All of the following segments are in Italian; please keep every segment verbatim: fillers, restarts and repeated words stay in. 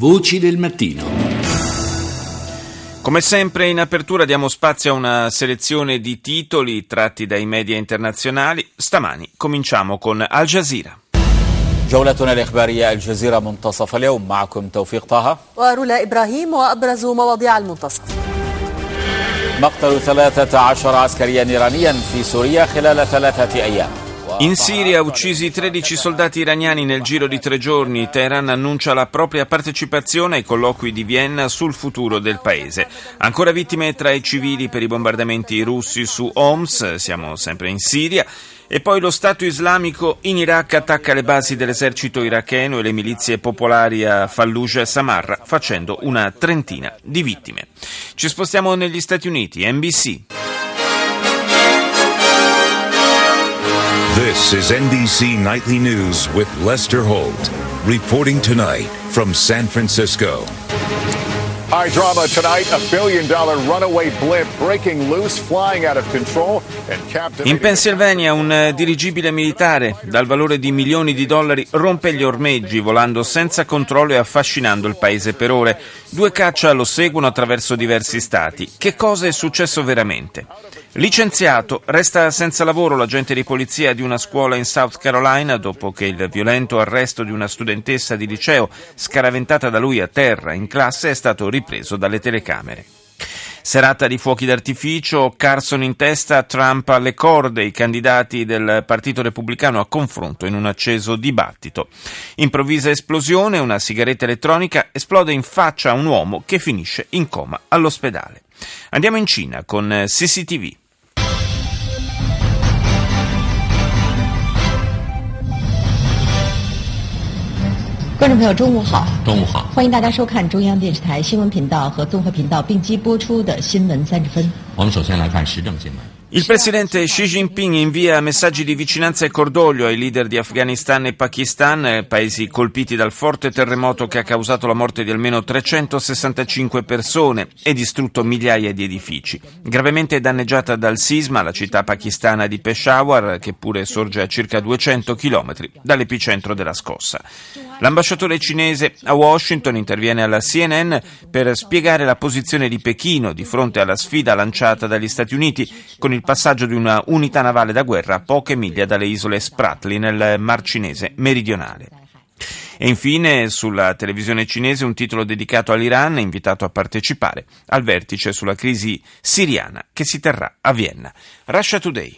Voci del mattino. Come sempre in apertura diamo spazio a una selezione di titoli tratti dai media internazionali. Stamani cominciamo con Al Jazeera. جولتنا الإخبارية الجزيرة منتصف اليوم معكم توفيق طه ورولا إبراهيم وأبرز مواضيع المنتصف. مقتل ثلاثة عشر عسكريا إيرانيا في سوريا خلال ثلاثة أيام. In Siria uccisi tredici soldati iraniani nel giro di tre giorni. Teheran annuncia la propria partecipazione ai colloqui di Vienna sul futuro del paese. Ancora vittime tra i civili per i bombardamenti russi su Homs, siamo sempre in Siria. E poi lo Stato islamico in Iraq attacca le basi dell'esercito iracheno e le milizie popolari a Fallujah e Samarra, facendo una trentina di vittime. Ci spostiamo negli Stati Uniti, N B C. This is N B C Nightly News with Lester Holt, reporting tonight from San Francisco. High drama tonight, a billion dollar runaway blimp breaking loose, flying out of control and captivating. In Pennsylvania un dirigibile militare dal valore di milioni di dollari rompe gli ormeggi volando senza controllo e affascinando il paese per ore. Due caccia lo seguono attraverso diversi stati. Che cosa è successo veramente? Licenziato, resta senza lavoro l'agente di polizia di una scuola in South Carolina dopo che il violento arresto di una studentessa di liceo scaraventata da lui a terra in classe è stato ripreso dalle telecamere. Serata di fuochi d'artificio, Carson in testa, Trump alle corde, i candidati del Partito Repubblicano a confronto in un acceso dibattito. Improvvisa esplosione, una sigaretta elettronica esplode in faccia a un uomo che finisce in coma all'ospedale. Andiamo in Cina con C C T V. 观众朋友，中午好！中午好！欢迎大家收看中央电视台新闻频道和综合频道并机播出的新闻三十分。 我们首先来看时政新闻。 Il presidente Xi Jinping invia messaggi di vicinanza e cordoglio ai leader di Afghanistan e Pakistan, paesi colpiti dal forte terremoto che ha causato la morte di almeno trecentosessantacinque persone e distrutto migliaia di edifici. Gravemente danneggiata dal sisma la città pakistana di Peshawar, che pure sorge a circa duecento chilometri dall'epicentro della scossa. L'ambasciatore cinese a Washington interviene alla C N N per spiegare la posizione di Pechino di fronte alla sfida lanciata dagli Stati Uniti con il passaggio di una unità navale da guerra a poche miglia dalle isole Spratly nel Mar Cinese meridionale. E infine sulla televisione cinese un titolo dedicato all'Iran, invitato a partecipare al vertice sulla crisi siriana che si terrà a Vienna. Russia Today.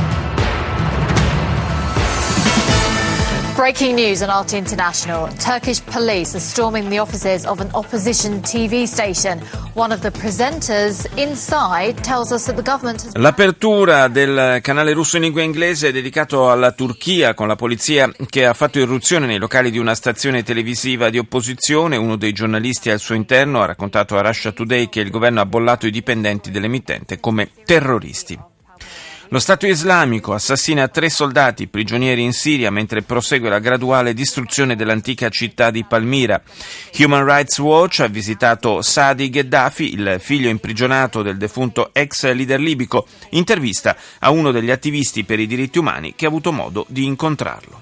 Breaking news on R T International. Turkish police are storming the offices of an opposition T V station. One of the presenters inside tells us that the government has... L'apertura del canale russo in lingua inglese è dedicato alla Turchia, con la polizia che ha fatto irruzione nei locali di una stazione televisiva di opposizione. Uno dei giornalisti al suo interno ha raccontato a Russia Today che il governo ha bollato i dipendenti dell'emittente come terroristi. Lo Stato islamico assassina tre soldati prigionieri in Siria mentre prosegue la graduale distruzione dell'antica città di Palmira. Human Rights Watch ha visitato Saadi Gheddafi, il figlio imprigionato del defunto ex leader libico. Intervista a uno degli attivisti per i diritti umani che ha avuto modo di incontrarlo.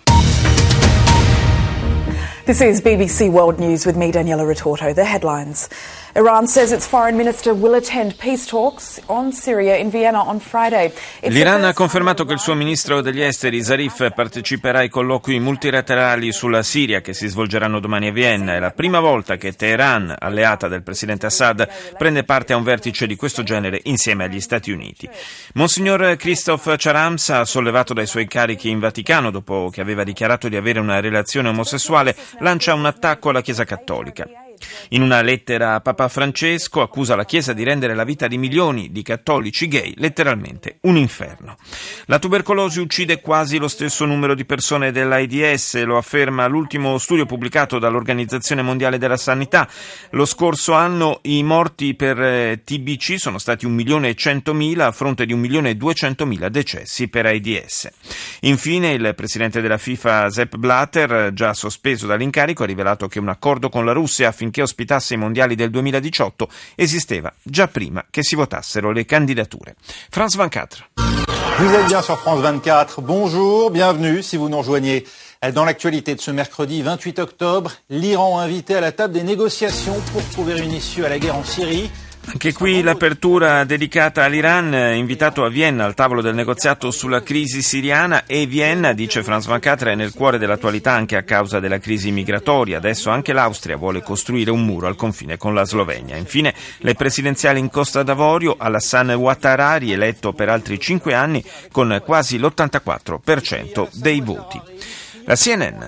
This is B B C World News with me, Daniela Retorto. The headlines. Iran says its foreign minister will attend peace talks on Syria in Vienna on Friday. L'Iran ha confermato che il suo ministro degli esteri Zarif parteciperà ai colloqui multilaterali sulla Siria che si svolgeranno domani a Vienna. È la prima volta che Teheran, alleata del presidente Assad, prende parte a un vertice di questo genere insieme agli Stati Uniti. Monsignor Christoph Charams, sollevato dai suoi incarichi in Vaticano dopo che aveva dichiarato di avere una relazione omosessuale, lancia un attacco alla Chiesa Cattolica. In una lettera a Papa Francesco accusa la Chiesa di rendere la vita di milioni di cattolici gay letteralmente un inferno. La tubercolosi uccide quasi lo stesso numero di persone dell'AIDS, lo afferma l'ultimo studio pubblicato dall'Organizzazione Mondiale della Sanità. Lo scorso anno i morti per T B C sono stati un milione e centomila a fronte di un milione e duecentomila decessi per AIDS. Infine il presidente della FIFA Sepp Blatter, già sospeso dall'incarico, ha rivelato che un accordo con la Russia affinché ospitasse i mondiali del duemiladiciotto esisteva già prima che si votassero le candidature. France vingt-quatre. Vous êtes bien sur France vingt-quatre. Bonjour, bienvenue si vous nous rejoignez Dans l'actualité de ce mercredi vingt-huit octobre, l'Iran invité à la table des négociations pour trouver une issue à la guerre en Syrie. Anche qui l'apertura dedicata all'Iran, invitato a Vienna al tavolo del negoziato sulla crisi siriana, e Vienna, dice Franz Van Catra, è nel cuore dell'attualità anche a causa della crisi migratoria. Adesso anche l'Austria vuole costruire un muro al confine con la Slovenia. Infine le presidenziali in Costa d'Avorio, Alassane Ouattara, eletto per altri cinque anni con quasi l'ottantaquattro per cento dei voti. La C N N.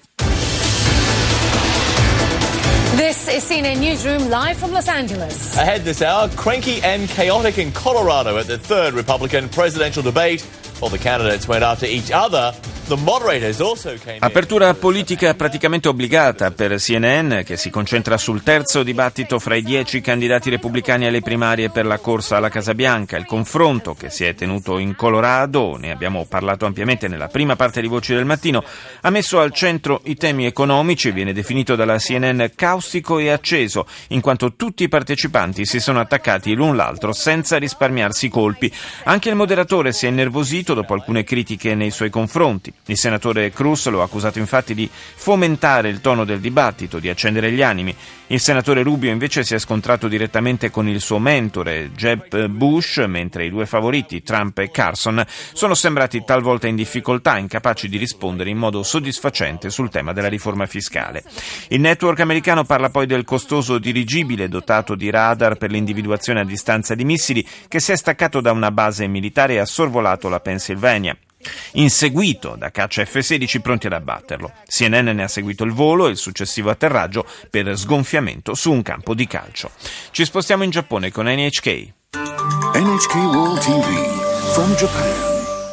This is C N N Newsroom live from Los Angeles. Ahead this hour, cranky and chaotic in Colorado at the third Republican presidential debate. While the candidates went after each other, the moderators also came in. Apertura politica praticamente obbligata per C N N, che si concentra sul terzo dibattito fra i dieci candidati repubblicani alle primarie per la corsa alla Casa Bianca. Il confronto che si è tenuto in Colorado, ne abbiamo parlato ampiamente nella prima parte di Voci del Mattino, ha messo al centro i temi economici e viene definito dalla C N N caustico e acceso, in quanto tutti i partecipanti si sono attaccati l'un l'altro senza risparmiarsi colpi. Anche il moderatore si è innervosito dopo alcune critiche nei suoi confronti. Il senatore Cruz lo ha accusato infatti di fomentare il tono del dibattito, di accendere gli animi. Il senatore Rubio invece si è scontrato direttamente con il suo mentore, Jeb Bush, mentre i due favoriti, Trump e Carson, sono sembrati talvolta in difficoltà, incapaci di rispondere in modo soddisfacente sul tema della riforma fiscale. Il network americano parla poi del costoso dirigibile dotato di radar per l'individuazione a distanza di missili che si è staccato da una base militare e ha sorvolato la Pennsylvania, inseguito da caccia F sedici pronti ad abbatterlo. C N N ne ha seguito il volo e il successivo atterraggio per sgonfiamento su un campo di calcio. Ci spostiamo in Giappone con N H K. N H K World T V from Japan.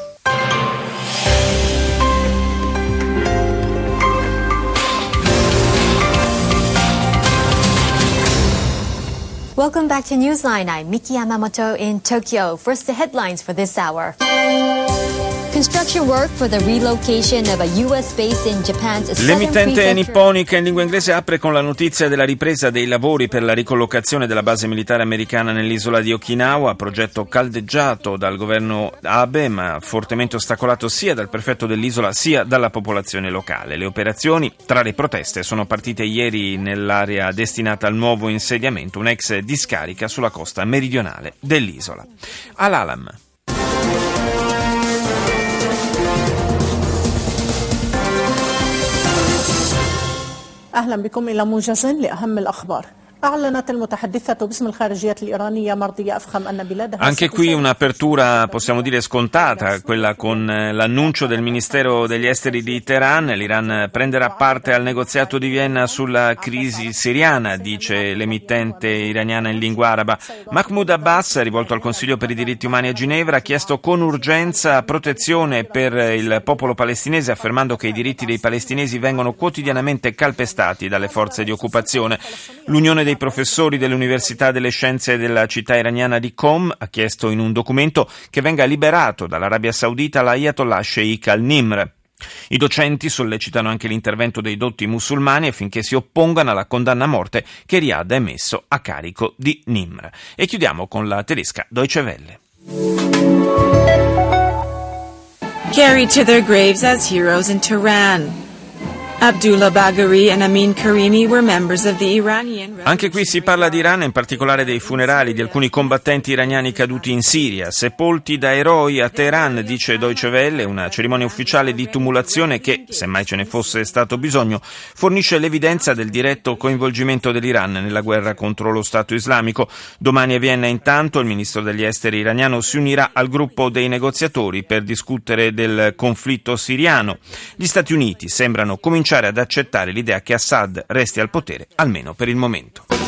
Welcome back to Newsline. I'm Miki Yamamoto in Tokyo. First, the headlines for this hour. Construction work for the relocation of a U S base in Japan's southern L'emittente prefecture. nipponica in lingua inglese apre con la notizia della ripresa dei lavori per la ricollocazione della base militare americana nell'isola di Okinawa, progetto caldeggiato dal governo Abe ma fortemente ostacolato sia dal prefetto dell'isola sia dalla popolazione locale. Le operazioni, tra le proteste, sono partite ieri nell'area destinata al nuovo insediamento, un'ex discarica sulla costa meridionale dell'isola. Al-Alam. أهلا بكم إلى موجز لأهم الأخبار. أعلنت المتحدثة باسم الخارجية الإيرانية مرضية أفخم أن بلادها. Anche qui un'apertura, possiamo dire, scontata, quella con l'annuncio del Ministero degli Esteri di Teheran. L'Iran prenderà parte al negoziato di Vienna sulla crisi siriana, dice l'emittente iraniana in lingua araba. Mahmoud Abbas, rivolto al Consiglio per i diritti umani a Ginevra, ha chiesto con urgenza protezione per il popolo palestinese, affermando che i diritti dei palestinesi vengono quotidianamente calpestati dalle forze di occupazione. L'Unione dei I professori dell'Università delle Scienze della città iraniana di Qom ha chiesto in un documento che venga liberato dall'Arabia Saudita l'Ayatollah Sheikh al-Nimr. I docenti sollecitano anche l'intervento dei dotti musulmani affinché si oppongano alla condanna a morte che Riyadh ha emesso a carico di Nimr. E chiudiamo con la tedesca Deutsche Welle. Carried to their graves as heroes in Tehran. Abdullah Bagheri and Amin Karimi were members of the Iranian. Anche qui si parla di Iran, in particolare dei funerali di alcuni combattenti iraniani caduti in Siria, sepolti da eroi a Teheran, dice Deutsche Welle, una cerimonia ufficiale di tumulazione che, semmai ce ne fosse stato bisogno, fornisce l'evidenza del diretto coinvolgimento dell'Iran nella guerra contro lo Stato islamico. Domani a Vienna, intanto, il ministro degli esteri iraniano si unirà al gruppo dei negoziatori per discutere del conflitto siriano. Gli Stati Uniti sembrano cominciare ad accettare l'idea che Assad resti al potere, almeno per il momento.